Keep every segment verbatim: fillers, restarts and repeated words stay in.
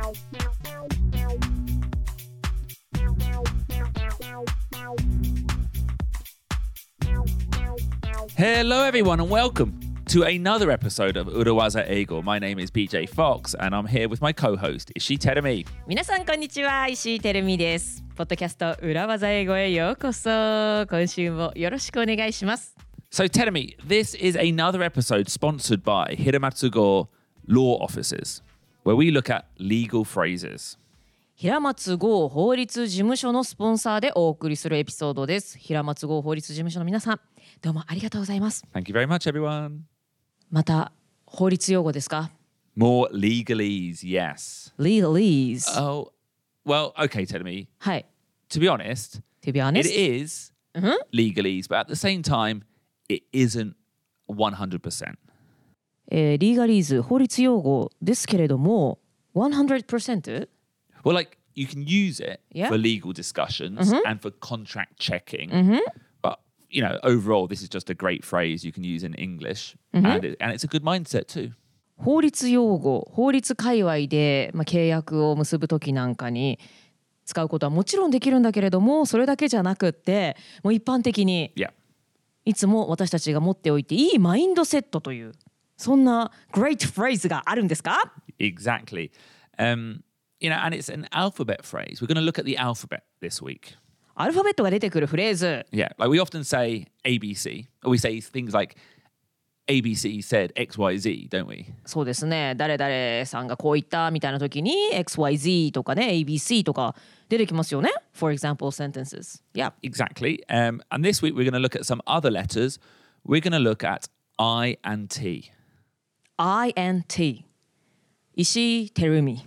Hello everyone and welcome to another episode of Urawaza Eigo. My name is B J Fox and I'm here with my co-host Ishii Terumi. 皆さんこんにちは、石井てるみです。ポッドキャスト裏技英語へようこそ。今週もよろしくお願いします。 So Terumi, this is another episode sponsored by Hiramatsugo Law Offices, where we look at legal phrases. 平松剛法律事務所のスポンサーでお送りするエピソードです。平松剛法律事務所の皆さん、どうもありがとうございます。 Thank you very much, everyone. また法律用語ですか？ More legalese, yes. Legalese. Oh, well, okay, Terumi. はい。 To be honest, To be honest, it is legalese, but at the same time, it isn't one hundred percent. えー、リーガリーズ法律用語ですけれども one hundred percent? Well, like you can use it Yeah. for legal discussions and for contract checking, but you know, overall, this is just a great phrase you can use in English, and it, and it's a good mindset too. 法律用語、法律界隈で、まあ、契約を結ぶときなんかに使うことはもちろんできるんだけれども、それだけじゃなくってもう一般的に Yeah. いつも私たちが持っておいていいマインドセットというそんな great phrase があるんですか？ Exactly. Um, you know, and it's an alphabet phrase. We're going to look at the alphabet this week. アルファベットが出てくるフレーズ。 Yeah, like we often say A B C, or we say things like A B C said X Y Z, don't we? そうですね。誰々さんがこう言ったみたいな時に エックスワイゼット とかね エービーシー とか出てきますよね。For example, sentences. Yeah. Exactly. Um, and this week we're going to look at some other letters. We're going to look at I and T. I and T. 石井てるみ。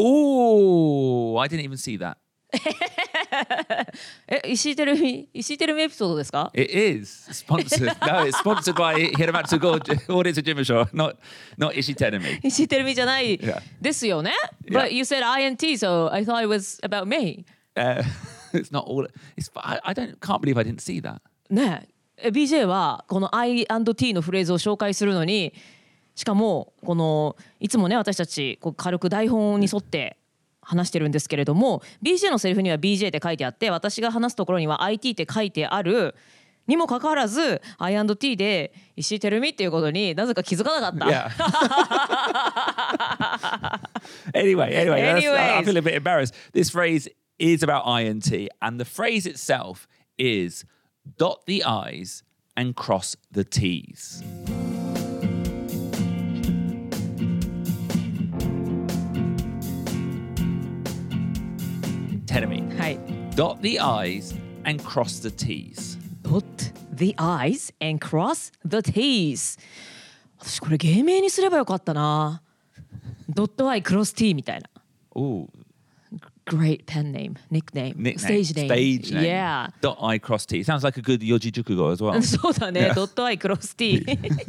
Oh, I didn't even see that. え、石井てるみ、石井てるみエピソードですか？ It is sponsored. No, it's sponsored by Hiramatsugo Audit Jimusho, not not Ishii Terumi. 石井てるみじゃない Yeah. ですよね。 Yeah. But you said I and T, so I thought it was about me. Uh, it's not all. It's. I, I don't. Can't believe I didn't see that. ねえ、ビージェー はこの I and T のフレーズを紹介するのに、しかもこのいつもね私たちこう軽く台本に沿って話してるんですけれども、 ビージェー のセリフには ビージェー って書いてあって、私が話すところには アイティー って書いてあるにもかかわらず I and T で石井てるみっていうことになぜか気づかなかった。 Yeah. anyway, anyway, that's, I, I Anyways. feel a bit embarrassed. This phrase is about I and T, and the phrase itself is dot the I's and cross the T's. Terumi, はい。 dot the I's and cross the T's. Dot the I's and cross the T's。 私これ芸名にすればよかったな。ドット I クロス T みたいな。 Ooh, Great pen name, nickname, nickname. stage name. Stage name. Yeah. Dot I cross T. Sounds like a good Yoji Jukugo as well. そうだね。ドット I クロス T.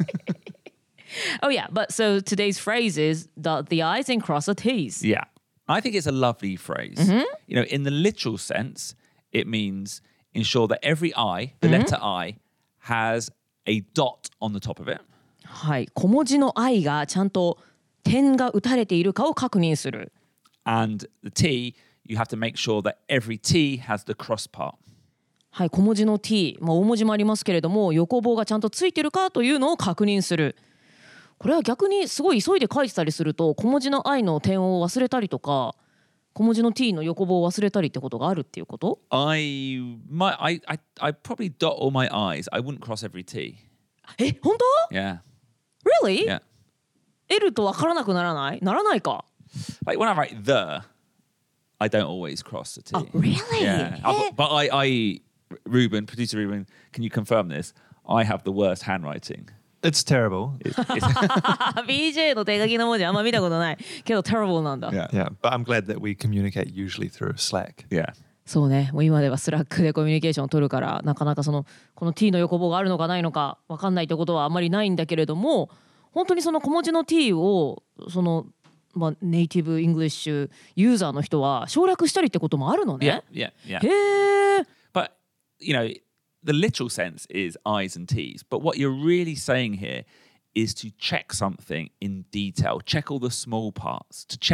Oh yeah, but so today's phrase is dot the I's and cross the T's. Yeah. I think it's a lovely phrase. You know, in the literal sense, it means ensure that every I, the letter I, has a dot on the top of it. はい。小文字の I がちゃんと点が打たれているかを確認する。 And the T, you have to make sure that every T has the cross part. はい。小文字の T、まあ、大文字もありますけれども、横棒がちゃんとついてるかというのを確認する。これは逆にすごい急いで書いてたりすると、小文字の I の点を忘れたりとか、小文字の T の横棒を忘れたりってことがあるっていうこと？ I might, I, I, I probably dot all my I's. I wouldn't cross every T. え、本当？ Yeah. Really? Yeah. L と分からなくならない？ならないか。 Like when I write the, I don't always cross the T. Oh, really? Yeah. I, but I, I, Ruben, producer Ruben, can you confirm this? I have the worst handwriting. It's terrible. It's, it's, ビージェー の手書きの文字あんま見たことないけど terrible なんだ。 yeah. Yeah, but I'm glad that we communicate usually through Slack. Yeah. そうね、もう今ではスラックでコミュニケーションを取るからなかなかそのこの T の横棒があるのかないのか分かんないってことはあんまりないんだけれども、本当にその小文字の T をその、まあ、ネイティブイングリッシュユーザーの人は省略したりってこともあるのね。 Yeah. Yeah. Yeah. へえ。 But, you know, the literal sense is I's and T's. But what you're really saying here is to check something in detail, check all the small parts, to check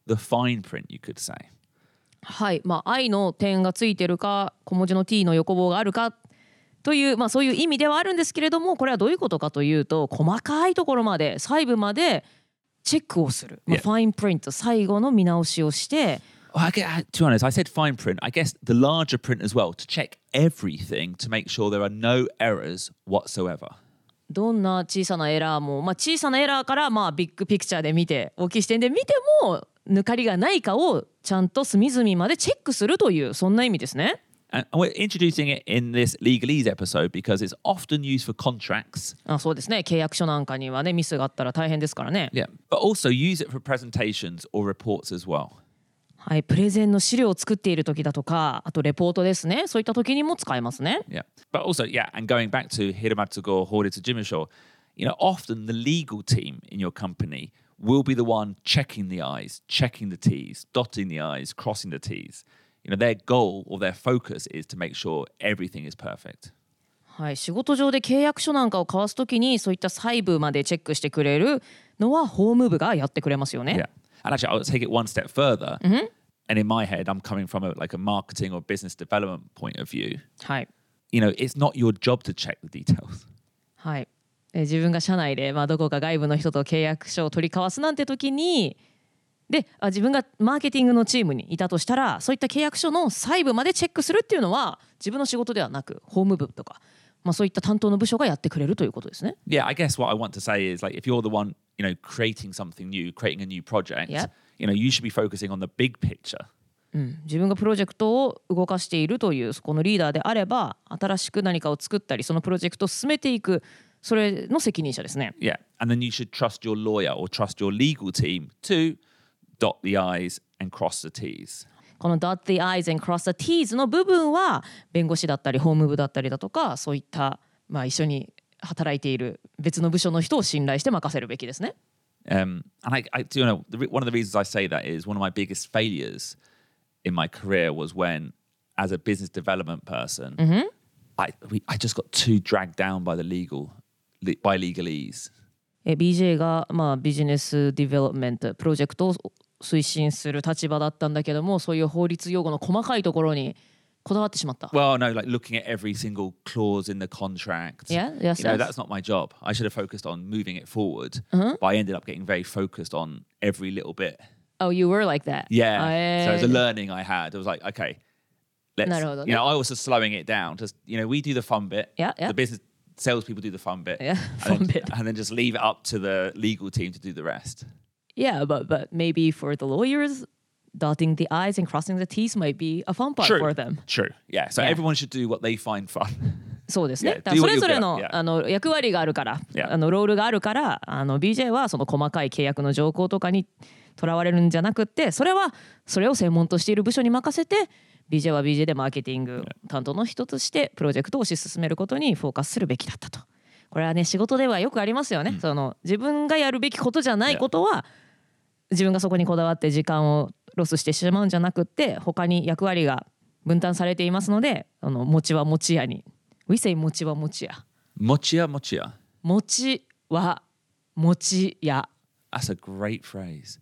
the fine print, you could say. はい、まあ、I の点がついてるか小文字の T の横棒があるかという、まあ、そういう意味ではあるんですけれども、これはどういうことかというと、細かいところまで細部までチェックをする、まあ、 Yeah. ファインプリント、最後の見直しをして、 Well, I get, to be honest, I said fine print. I guess the larger print as well, to check everything to make sure there are no errors whatsoever. どんな小さなエラーも、まあ、小さなエラーからまあビッグピクチャーで見て、大きい視点で見ても抜かりがないかをちゃんと隅々までチェックするという、そんな意味ですね。 And we're introducing it in this legalese episode because it's often used for contracts. あ、そうですね、契約書なんかにはねミスがあったら大変ですからね。 Yeah. But also use it for presentations or reports as well. はい、プレゼンの資料を作っている時だとか、あとレポートですね、そういった時にも使えますね。 Yeah. But also, yeah, and going back to Hiramatsugo, Horitsu Jimusho, you know, often the legal team in your company will be the one checking the I's, checking the T's, dotting the I's, crossing the T's. You know, their goal or their focus is to make sure everything is perfect. はい、仕事上で契約書なんかを交わす時にそういった細部までチェックしてくれるのは法務部がやってくれますよね。 Yeah. And actually, I'll take it one step further. And in my head, I'm coming from a, like a marketing or business development point of view. はい、 You know, it's not your job to check the details. はい、え自分が社内で、まあ、どこか外部の人と契約書を取り交わすなんて時に、であ自分がマーケティングのチームにいたとしたら、そういった契約書の細部までチェックするっていうのは自分の仕事ではなく法務部とか、まあ、そういった担当の部署がやってくれるということですね。 Yeah, I guess what I want to say is like if you're the one, you know, creating something new, creating a new project, Yep. you know, you should be focusing on the big picture. うん、自分がプロジェクトを動かしているというそこのリーダーであれば、新しく何かを作ったりそのプロジェクトを進めていく、それの責任者ですね。 Yeah. And then you should trust your lawyer or trust your legal team to dot the I's and cross the T's. この dot the I's and cross the T's の部分は弁護士だったり法務部だったりだとか、そういった、まあ、一緒に働いている別の部署の人を信頼して任せるべきですね。 Um, and I, I do you know, the, re- one of the reasons I say that is one of my biggest failures in my career was when, as a business development person, I, we, I just got too dragged down by the legal, by legalese. え ビージェー が、まあ、ビジネスディベロップメントプロジェクトを推進する立場だったんだけども、そういう法律用語の細かいところにこだわってしまった。 Well, no, like looking at every single clause in the contract. Yeah, yes, You know, yes. that's not my job. I should have focused on moving it forward, but I ended up getting very focused on every little bit. Oh, you were like that. Yeah. あえー So it was a learning I had. I was like, okay, let's, なるほどね。 you know, I was just slowing it down. Just, you know, we do the fun bit. Yeah, yeah. The business salespeople do the fun bit. Yeah, and fun then, bit. And then just leave it up to the legal team to do the rest. Yeah, but but maybe for the lawyers, dotting the I's and crossing the T's might be a fun part True. for them. True. Yeah. So Yeah. everyone should do what they find fun. そうですね。 Yeah, だから do そ what れ you're ぞれ good の at. Yeah. あの役割があるから、 Yeah. あのロールがあるから、あの ビージェー はその細かい契約の条項とかにとらわれるんじゃなくって、それはそれを専門としている部署に任せて、ビージェー は ビージェー でマーケティング担当の人としてプロジェクトを推し進めることにフォーカスするべきだったと。これはね、仕事ではよくありますよね。その自分がやるべきことじゃないことは、自分がそこにこだわって時間をロスしてしまうんじゃなくって、他に役割が分担されていますので、あの餅は餅屋に。We say 餅は餅屋。 Mochia, mochia. 餅は餅屋。 That's a great phrase.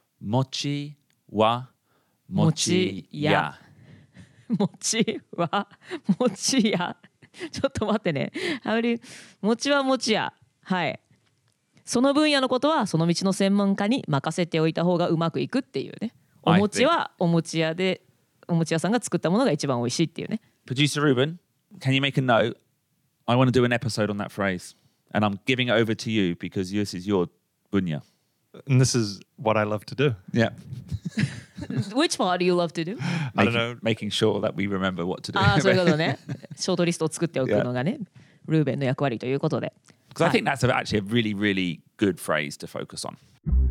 Mochi wa Mochi mochi ya. ya. 餅は餅屋。ちょっと待ってね。あり餅は餅屋。はい。その分野のことはその道の専門家に任せておいた方がうまくいくっていうね。お I 餅はお餅屋で、お餅屋さんが作ったものが一番美味しいっていうね。 Producer Ruben, can you make a note? I want to do an episode on that phrase. And I'm giving it over to you because this is your bunya. And this is what I love to do. Yeah. Which part do you love to do? I don't Making, know. making sure that we remember what to do. ああ、そういうことね。ショートリストを作っておくのがね、ルーベンの役割ということで。 Because I think that's a, actually a really, really good phrase to focus on.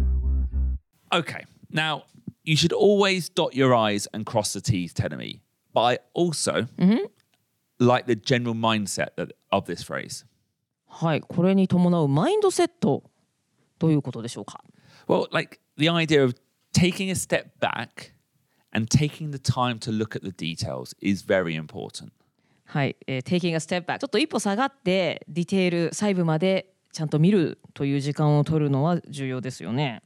Okay. Now, you should always dot your I's and cross the T's, telling me. But I also like the general mindset that, of this phrase. はい、これに伴うマインドセットどういうことでしょうか。 Well, like the idea of taking a step back and taking the time to look at the details is very important. はい、えー、taking a step back ちょっと一歩下がってディテール細部までちゃんと見るという時間を取るのは重要ですよね。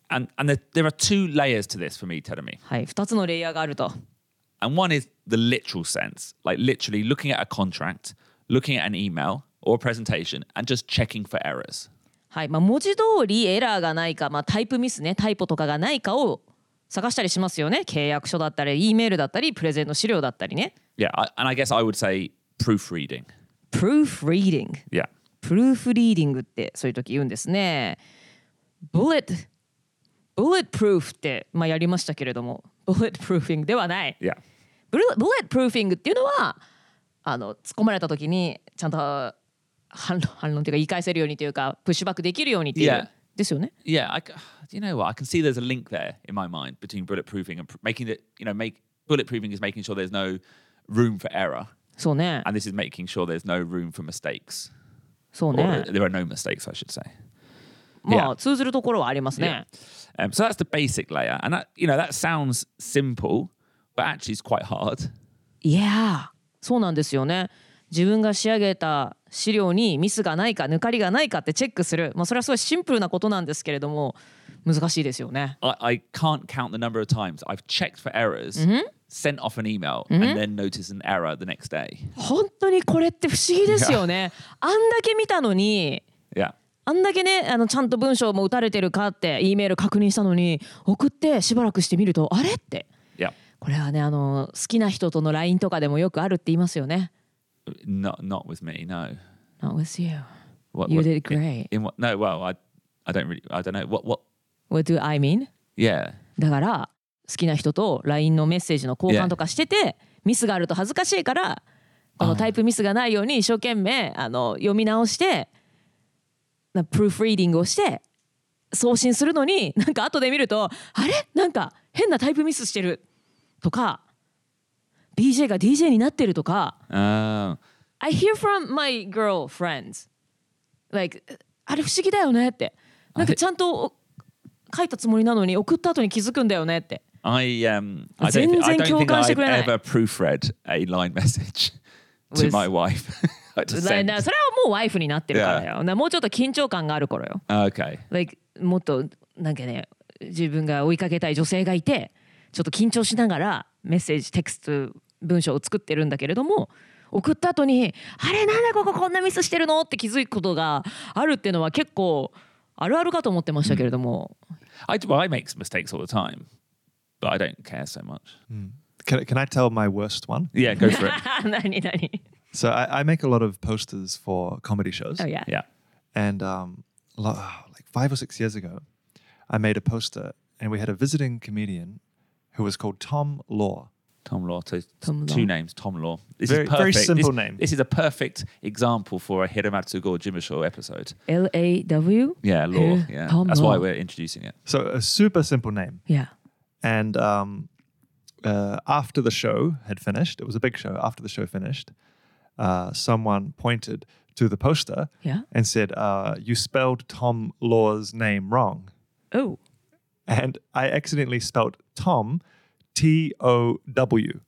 And and there, there are two layers to this for me, Terumi. はい、ふたつのレイヤーがあると。 And one is the literal sense, like literally looking at a contract, looking at an email or a presentation, and just checking for errors. はい、まあ、文字通りエラーがないか、まあ、タイプミスね、タイプとかがないかを探したりしますよね。契約書だったり、E メールだったり、プレゼンの資料だったりね。 Yeah, I, and I guess I would say proofreading. Proofreading。 Yeah. プルーフリーディングってそういう時言うんですね。Bullet Bulletproof って、まあ、やりましたけれども、Bulletproofing ではない。 Yeah. Bulletproofing っていうのはあの突っ込まれた時にちゃんと反論反論というか言い返せるようにというかプッシュバックできるようにっていう、 Yeah. ですよね。 Yeah, I, do you know what? I can see there's a link there in my mind between bulletproofing and pr- making it, you know, make bulletproofing is making sure there's no room for error. そうね。 And this is making sure there's no room for mistakes. そう Or ね。 there are no mistakes, I should say. まあ Yeah. 通ずるところはありますね。 Um, so that's the basic layer. And that, you know, that sounds simple, but actually it's quite hard. いやー、そうなんですよね。自分が仕上げた資料にミスがないか抜かりがないかってチェックする、まあ、それはすごいシンプルなことなんですけれども難しいですよね。 I, I can't count the number of times I've checked for errors, sent off an email, and then noticed an error the next day. 本当にこれって不思議ですよね。あんだけ見たのに Yeah. あんだけねあのちゃんと文章も打たれてるかって E メール確認したのに送ってしばらくしてみるとあれって Yeah. これはねあの好きな人との ライン とかでもよくあるって言いますよね。 Not not with me, no. Not with you. What, You what- did great. In, in what? No, well, I I don't really, I don't know. What what? What do I mean? Yeah. だから好きな人と ライン のメッセージの交換とかしてて、ミスがあると恥ずかしいからこのタイプミスがないように一生懸命あの読み直してなプルーフリーディングをして送信するのになんか後で見るとあれなんか変なタイプミスしてるとか ビージェー が ディージェー になってるとか Oh. I hear from my girlfriends like あれ不思議だよねってなんかちゃんと書いたつもりなのに送った後に気づくんだよねって I um I don't, thi- I don't think I've ever proofread a line message to With- my wife. I だ just それ sent. はもうワイフになってるからだよ。なもうちょっと緊張感がある頃よ。 Okay. Like もっとなんかね自分が追いかけたい女性がいてちょっと緊張しながらメッセージテクスト文章を作ってるんだけれども送った後にあれなんでこここんなミスしてるのって気づくことがあるっていうのは結構あるあるかと思ってましたけれども、 I well, I make mistakes all the time, but I don't care so much. Can, can I tell my worst one? Yeah, go for it. 何何 So I, I make a lot of posters for comedy shows. Oh yeah. Yeah. And um, lo- like five or six years ago, I made a poster and we had a visiting comedian who was called Tom Law. Tom Law. So Tom two Law. names. Tom Law. This Very- is perfect. very simple this, name. This is a perfect example for a Hiramatsu Go Jimusho episode. L A W? Yeah, Law. Uh, Yeah, Tom that's Law. why we're introducing it. So a super simple name. Yeah. And um, uh, after the show had finished, it was a big show. After the show finished, uh, someone pointed to the poster Yeah. and said, uh, "You spelled Tom Law's name wrong." Oh. And I accidentally spelled Tom, T O W.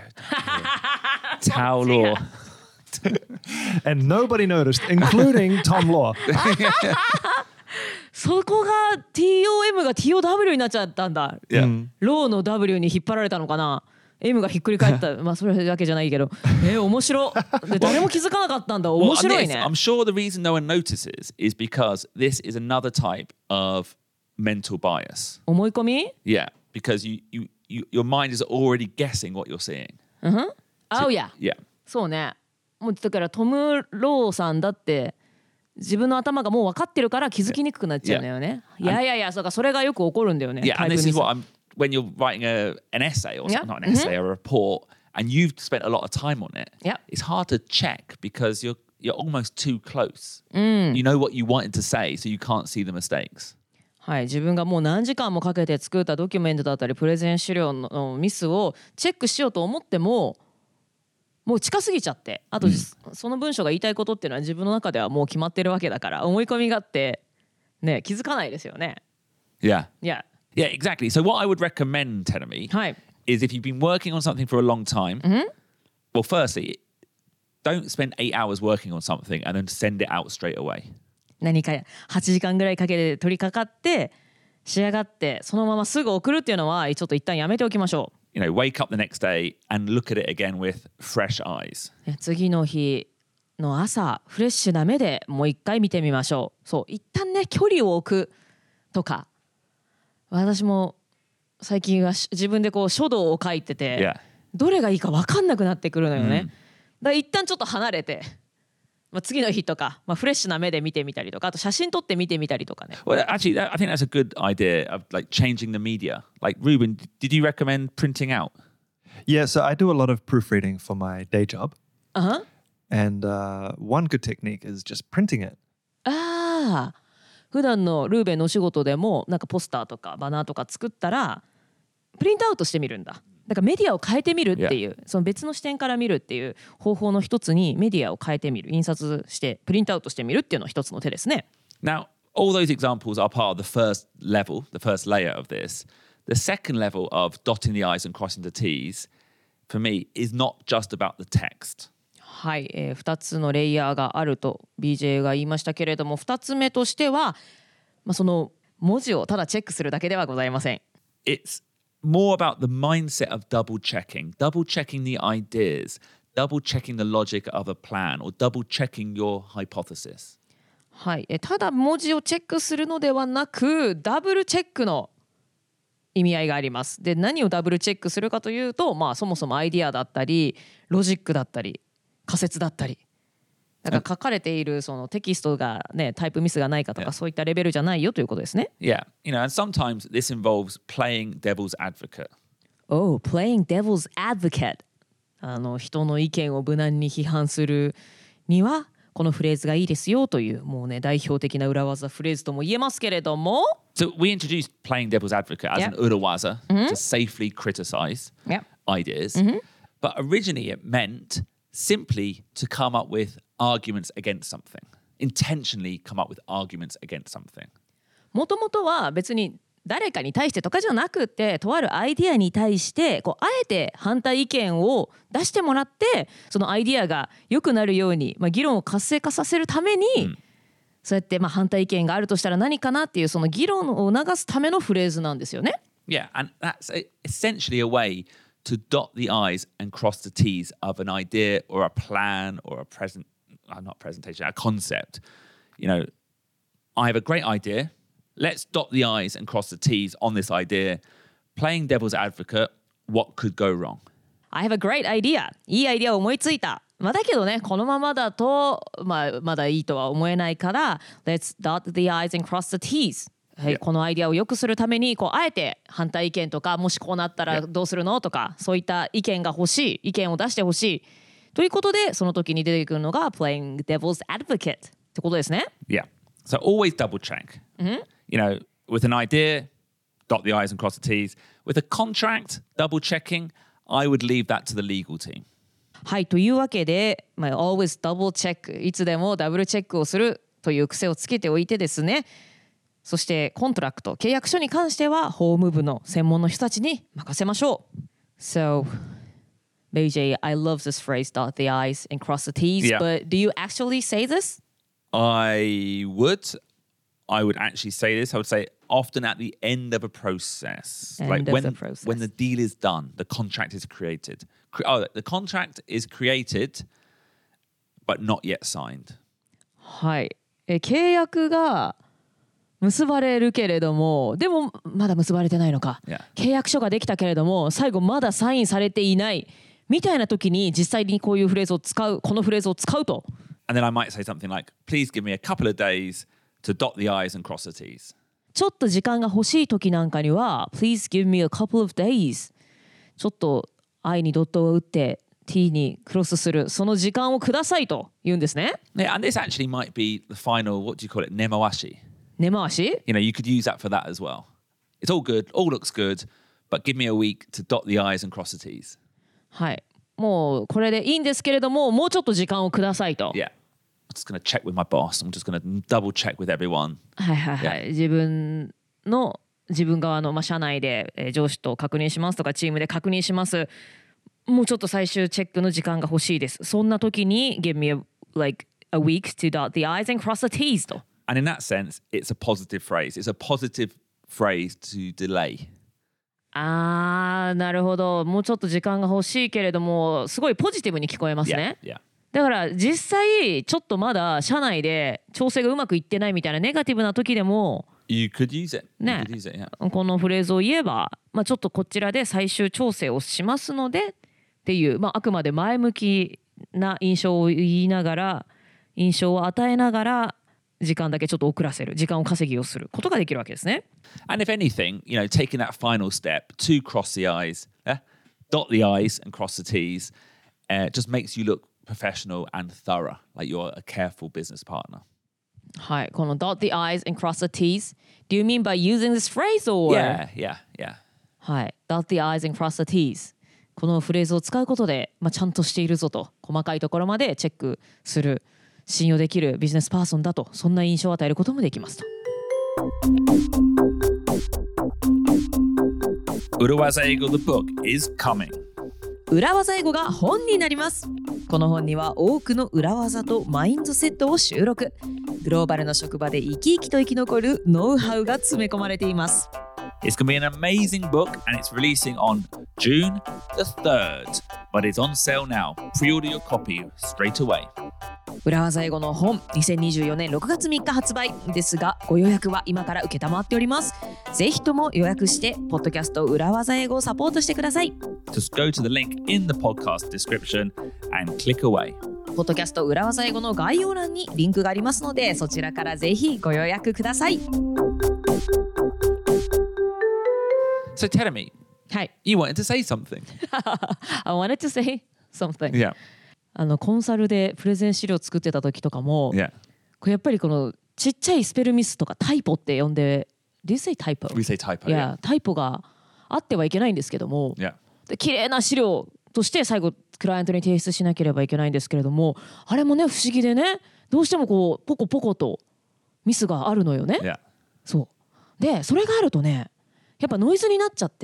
Tao Law. And nobody noticed, including Tom Law. そこが ティーオーエム が ティーオーダブリュー になっちゃったんだ。 Yeah. ローの W に引っ張られたのかな ?M がひっくり返ったまあそれだけじゃないけどえー、面白で誰も気づかなかったんだ Well, 面 and 白い this, ね I'm sure the reason no one notices is because this is another type of mental bias. 思い込み Yeah, because you, you, you your mind is already guessing what you're seeing. あうや Yeah. そうねもうだからトム・ローさんだって自分の頭がもう分かってるから気づきにくくなっちゃうんだよね、いやいやいやそうかそれがよく起こるんだよね Yeah, タ and イプ this ミ is ス what I'm when you're writing a an essay or Yeah. something, not an essay or a report, and you've spent a lot of time on it. Yeah. It's hard to check because you're you're almost too close. You know what you wanted to say, so you can't see the mistakes. はい、自分がもう何時間もかけて作ったドキュメントだったりプレゼン資料のミスをチェックしようと思ってももう近すぎちゃってあと、その文章が言いたいことっていうのは自分の中ではもう決まってるわけだから思い込みがあってね気づかないですよね Yeah. いや Yeah, exactly. So what I would recommend, Tenemy, はい is if you've been working on something for a long time, well, firstly, don't spend eight hours working on something and then send it out straight away. 何かはちじかんぐらいかけて取り掛かって仕上がってそのまますぐ送るっていうのはちょっと一旦やめておきましょう。 You know, wake up the next day and look at it again with fresh eyes. 次の日の朝フレッシュな目でもう一回見てみましょう。そう一旦ね距離を置くとか、私も最近は自分でこう書道を書いてて、 Yeah. どれがいいか分かんなくなってくるのよね。 うん、 だから一旦ちょっと離れて、まあ、次の日とか、まあ、フレッシュな目で見てみたりとか、あと写真撮って見てみたりとかね。 Well, actually, that, I think that's a good idea of like changing the media. Like, Ruben, did you recommend printing out? Yeah, so I do a lot of proofreading for my day job. Uh-huh. And uh, one good technique is just printing it. ああ、普段のルーベンのお仕事でもなんかポスターとかバナーとか作ったらプリントアウトしてみるんだ。だからメディアを変えてみるっていう、その別の視点から見るっていう方法の一つにメディアを変えてみる、印刷してプリントアウトしてみるっていうのは一つの手ですね。 Now, all those examples are part of the first level, the first layer of this. The second level of dotting the I's and crossing the T's, for me, is not just about the text. はい、えー、ふたつのレイヤーがあると ビージェー が言いましたけれども、ふたつめとしては、まあ、その文字をただチェックするだけではございません。 It's more about the mindset of double checking, double checking the ideas, double checking the logic of a plan, or double checking your hypothesis. はい、えただ文字をチェックするのではなく、ダブルチェックの意味合いがあります。で、何をダブルチェックするかというと、まあ、そもそもアイディアだったりロジックだったり仮説だったり、だから書かれているそのテキストがねタイプミスがないかとか、そういったレベルじゃないよということですね。 Yeah, you know, and sometimes this involves playing devil's advocate. Oh, playing devil's advocate. あの人の意見を無難に批判するにはこのフレーズがいいですよという、もうね代表的な裏技フレーズとも言えますけれども。 So we introduced playing devil's advocate as Yep. an urawaza to safely criticize Yep. ideas. But originally it meant simply to come up with arguments against something. Intentionally come up with arguments against something. もともとは別に誰かに対してとかじゃなくて、とあるアイディアに対してこうあえて反対意見を出してもらって、そのアイディアが良くなるように、まあ、議論を活性化させるために、そうやってまあ反対意見があるとしたら何かなっていうその議論を促すためのフレーズなんですよね。 Yeah, and that's a, essentially a way to dot the I's and cross the T's of an idea or a plan or a present, uh, not presentation, a concept. You know, I have a great idea. Let's dot the I's and cross the T's on this idea. Playing devil's advocate, what could go wrong? I have a great idea. いいアイデアを思いついた。まあ、だけどね、このままだと、まあ、まだいいとは思えないから、Let's dot the I's and cross the T's. はい、このアイデアを良くするためにこうあえて反対意見とか、もしこうなったらどうするのとか、そういった意見が欲しい、意見を出してほしいということで、その時に出てくるのが playing devil's advocate ってことですね。 Yeah. So always double check. You know, with an idea, dot the I's and cross the T's. With a contract, double checking, I would leave that to the legal team. はい、というわけで、まあ、always double check、いつでもダブルチェックをするという癖をつけておいてですね。そしてコントラクト、契約書に関しては法務部の専門の人たちに任せましょう。So, B J, I love this phrase, dot the I's and cross the T's, Yeah. but do you actually say this? I would. I would actually say this. I would say often at the end of a process. End like of when, the process. when the deal is done, the contract is created. Cre- oh, the contract is created, but not yet signed. はい、え契約が結ばれるけれども、でもまだ結ばれてないのか、 Yeah. 契約書ができたけれども最後まだサインされていないみたいな時に実際にこういうフレーズを使う、このフレーズを使うと。 And then I might say something like, please give me a couple of days to dot the I's and cross the T's. ちょっと時間が欲しい時なんかには Please give me a couple of days、 ちょっと I にドットを打って T にクロスするその時間をくださいと言うんですね。 Yeah, and this actually might be the final, what do you call it, nemawashi. 根回し。 You know, you could use that for that as well. It's all good, all looks good, but give me a week to dot the I's and cross the T's. はい、もうこれでいいんですけれども、もうちょっと時間をくださいと。 Yeah. I'm just going to check with my boss. I'm just going to double check with everyone. はいはいはい、自分の自分側の、まあ、社内で、えー上司と確認しますとかチームで確認します、もうちょっと最終チェックの時間が欲しいです。そんな時に Give me a, like a week to dot the I's and cross the T's と。 And in that sense, it's a positive phrase. It's a positive phrase to delay. あーなるほど。もうちょっと時間が欲しいけれどもすごいポジティブに聞こえますね。 Yeah, yeah. だから実際ちょっとまだ社内で調整がうまくいってないみたいなネガティブな時でも You could use it. You ね could use it, yeah. このフレーズを言えば、まあ、ちょっとこちらで最終調整をしますのでっていう、まあ、あくまで前向きな印象を言いながら印象を与えながら時間だけちょっと遅らせる時間を稼ぎをすることができるわけですね。 And if anything, you know, taking that final step to cross the I's, eh? dot the I's and cross the T's, uh, just makes you look professional and thorough, like you're a careful business partner. はい、この dot the I's and cross the T's Do you mean by using this phrase or? Yeah, yeah, yeah. はい、dot the I's and cross the T's このフレーズを使うことで、まあ、ちゃんとしているぞと細かいところまでチェックする信用できるビジネスパーソンだとそんな印象を与えることもできますと。 裏技英語 The book is coming. 裏技英語が本になります。この本には多くの裏技とマインドセットを収録。グローバルの職場で生き生きと生き残るノウハウが詰め込まれています。 It's going to be an amazing book and it's releasing on June the third, but it's on sale now. Pre-order your copy straight away. 裏技英語の本にせんにじゅうよねんろくがつみっか発売ですがご予約は今から受けたまっております。ぜひとも予約してポッドキャスト裏技英語をサポートしてください。 Just go to the link in the podcast description and click away. ポッドキャスト裏技英語の概要欄にリンクがありますのでそちらからぜひご予約ください。 So tell me, はい。 you wanted to say something. I wanted to say something. Yeah. あのコンサルでプレゼン資料作ってた時とかも、 Yeah. これやっぱりこのちっちゃいスペルミスとかタイポって呼んで Do you say typo? We say typo. いや、タイポがあってはいけないんですけども、 Yeah. で綺麗な資料として最後クライアントに提出しなければいけないんですけれどもあれもね不思議でねどうしてもこうポコポコとミスがあるのよね。 Yeah. そうでそれがあるとねやっぱノイズになっちゃって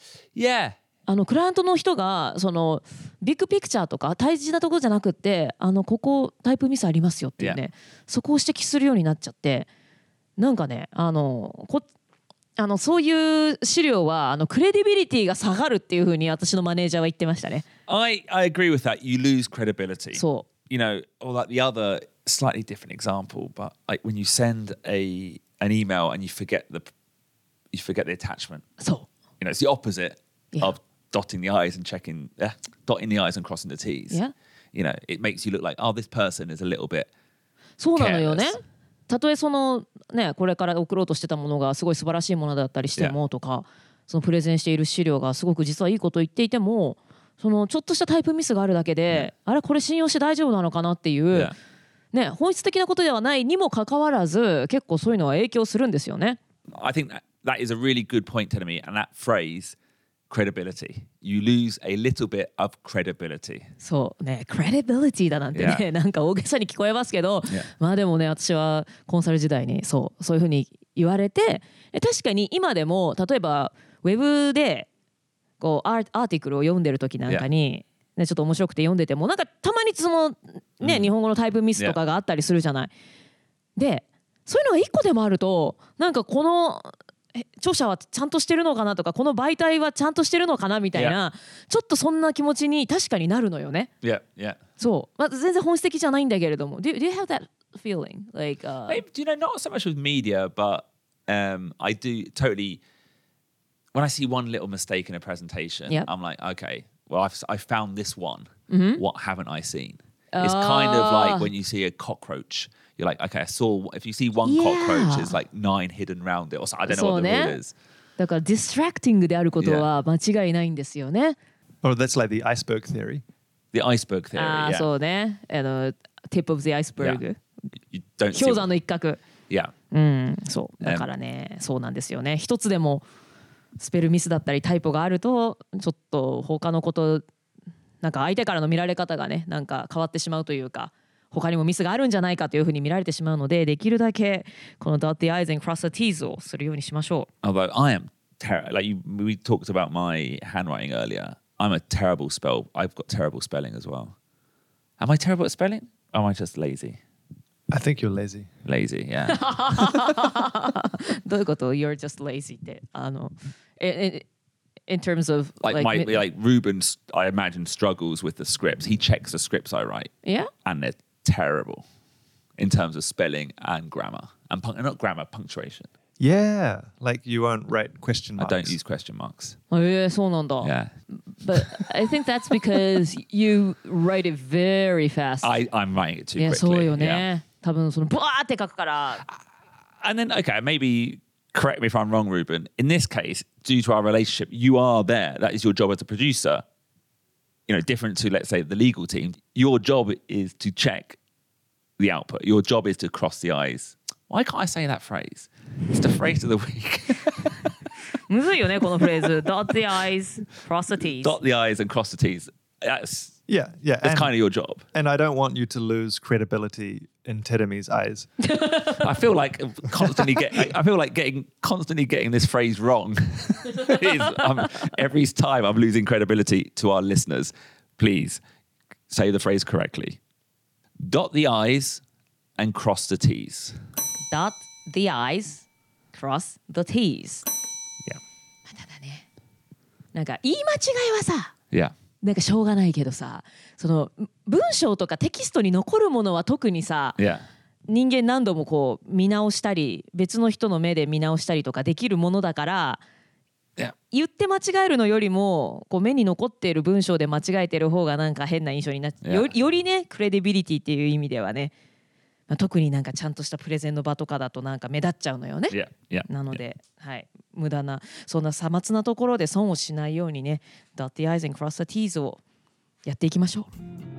Yeah. あのクライアントの人がそのビッグピクチャーとか大事なところじゃなくってあのここタイプミスありますよっていうね、そこを指摘するようになっちゃってなんかねあのこあのそういう資料はあのクレディビリティが下がるっていうふうに私のマネージャーは言ってましたね。 I, I agree with that. You lose credibility. そう You know, or like the other slightly different example, but like when you send a an email and you forget the you forget the attachment. そう You know, it's the opposite Yeah. of dotting the I's and checking, uh, dotting the I's and crossing the T's. Yeah. You know, it makes you look like, oh, this person is a little bit. そうなのよね careless. たとえそのねこれから送ろうとしてたものがすごい素晴らしいものだったりしてもとか、そのプレゼンしている資料がすごく実はいいことを言っていてもそのちょっとしたタイプミスがあるだけで、あれこれ信用して大丈夫なのかなっていう、 Yeah. ね、本質的なことではないにもかかわらず結構そういうのは影響するんですよね。 I think that, that is a really good point, Telemi, and that phrase, credibility. You lose a little bit of credibility. そうね、クレディビリティだなんてね、 Yeah. なんか大げさに聞こえますけど、 Yeah. まあでもね私はコンサル時代にそうそういうふうに言われて、確かに今でも例えばウェブでこうアーアーティクルを読んでる時なんかに、ね、ちょっと面白くて読んでてもなんかたまにそのね、 うん日本語のタイプミスとかがあったりするじゃない。でそういうのがいっこでもあるとなんかこのえ著者はちゃんとしてるのかなとかこの媒体はちゃんとしてるのかなみたいな、ちょっとそんな気持ちに確かになるのよね。 Yeah, yeah. そう、まあ、全然本質的じゃないんだけれども do, do you have that feeling? Like, uh, Maybe, do you know, not so much with media, but um, I do totally. When I see one little mistake in a presentation, Yep. I'm like, okay, well, I've I found this one. Mm-hmm. What haven't I seen? It's kind of Ah. like when you see a cockroach. You're like, okay, I saw. If you see one Yeah. cockroach, there's like nine hidden round it, or so, I don't know what the そうね。 rule is. だからディストラクティングであることは間違いないんですよね。 Oh, that's like the iceberg theory. The iceberg theory. ああ、 yeah. そうね。あの tip of the iceberg、 Yeah. You don't see. 氷山の一角。 Yeah. うん、そうだからね、そうなんですよね。一つでもスペルミスだったりタイプがあるとちょっと他のことなんか相手からの見られ方がねなんか変わってしまうというか他にもミスがあるんじゃないかというふうに見られてしまうのでできるだけこの dot the i's and cross the t's をするようにしましょう。 Although I am terrible. Like you, we talked about my handwriting earlier. I'm a terrible spell. I've got terrible spelling as well. Am I terrible at spelling? Or am I just lazy? I think you're lazy. Lazy, yeah. どういうこと You're just lazy ってあの in, in terms of Like, my, like Ruben, I imagine, struggles with the scripts. He checks the scripts I write. Yeah? And they're terrible in terms of spelling and grammar. And pun- not grammar, punctuation. Yeah, like you won't write question I marks. don't use question marks. えー、そうなんだ。 Yeah. But I think that's because you write it very fast. I, I'm writing it too いや、そう quickly. よ Yeah. ね。多分そのブワーって書くから。 And then, okay, maybe correct me if I'm wrong, Ruben. In this case, due to our relationship, you are there. That is your job as a producer. You know, different to, let's say, the legal team. Your job is to check the output. Your job is to cross the I's. Why can't I say that phrase? It's the phrase of the week. むずいよね、このフレーズ。Dot the I's, cross the T's. Dot the I's and cross the T's. That's, Yeah, yeah. that's and, kind of your job. and I don't want you to lose credibility in Teremi's eyes. I feel like constantly get. I feel like getting constantly getting this phrase wrong. is, um, every time I'm losing credibility to our listeners. Please say the phrase correctly. Dot the I's and cross the T's. Dot the I's, cross the T's. Yeah. ただね、なんか言い間違いはさ、 Yeah. なんかしょうがないけどさ、その文章とかテキストに残るものは特にさ、 Yeah. 人間何度もこう見直したり別の人の目で見直したりとかできるものだから、 Yeah. 言って間違えるのよりもこう目に残っている文章で間違えてる方がなんか変な印象になって、 Yeah. よ, よりねクレディビリティっていう意味ではね、まあ、特になんかちゃんとしたプレゼンの場とかだとなんか目立っちゃうのよね。 Yeah. Yeah. なので、はい、無駄なそんなさまつなところで損をしないようにね Dot the I's and cross the T's をやっていきましょう。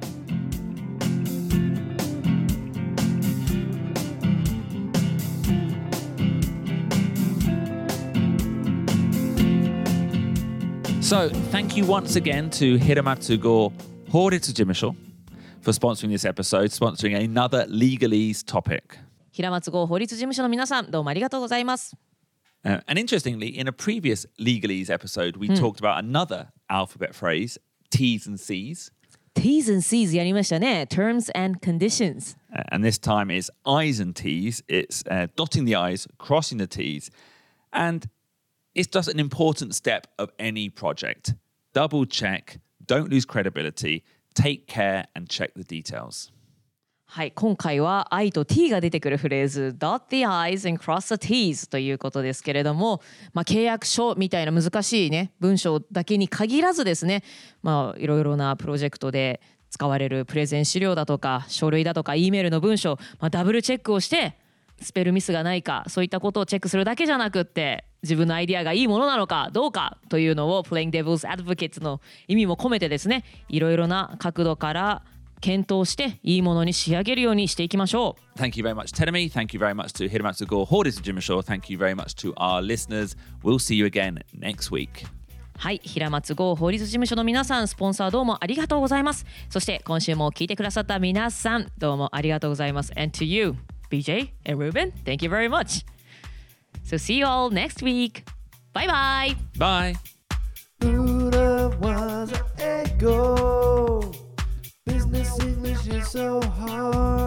So thank you once again to Hiramatsu Go Horitsu Jimusho for sponsoring this episode, sponsoring another legalese topic. 平松号法律事務所の皆さんどうもありがとうございます。 Uh, and interestingly, in a previous legalese episode, we talked about another alphabet phrase, T's and C's. T's and C's やりましたね。Terms and conditions. Uh, and this time is I's and T's. It's uh, dotting the I's, crossing the T's. And it's just an important step of any project. Double check, don't lose credibility, take care and check the details. はい、今回は I と T が出てくるフレーズ Dot the I's and cross the T's ということですけれども、まあ、契約書みたいな難しいね文章だけに限らずですね、まあ、いろいろなプロジェクトで使われるプレゼン資料だとか書類だとか E メールの文章、まあ、ダブルチェックをしてスペルミスがないかそういったことをチェックするだけじゃなくって自分のアイディアがいいものなのかどうかというのを Playing Devil's Advocate の意味も込めてですねいろいろな角度から検討していいものに仕上げるようにしていきましょう。 Thank you very much, Teremi. Thank you very much to Hiramatsu Go Horitsu Jimusho. Thank you very much to our listeners. We'll see you again next week. はい、平松剛法律事務所の皆さん、スポンサーどうもありがとうございます。そして今週も聞いてくださった皆さん、どうもありがとうございます。And to you, ビージェー and Ruben, thank you very much. So see you all next week. Bye bye. Bye. Buddha was an echo. Business English is so hard.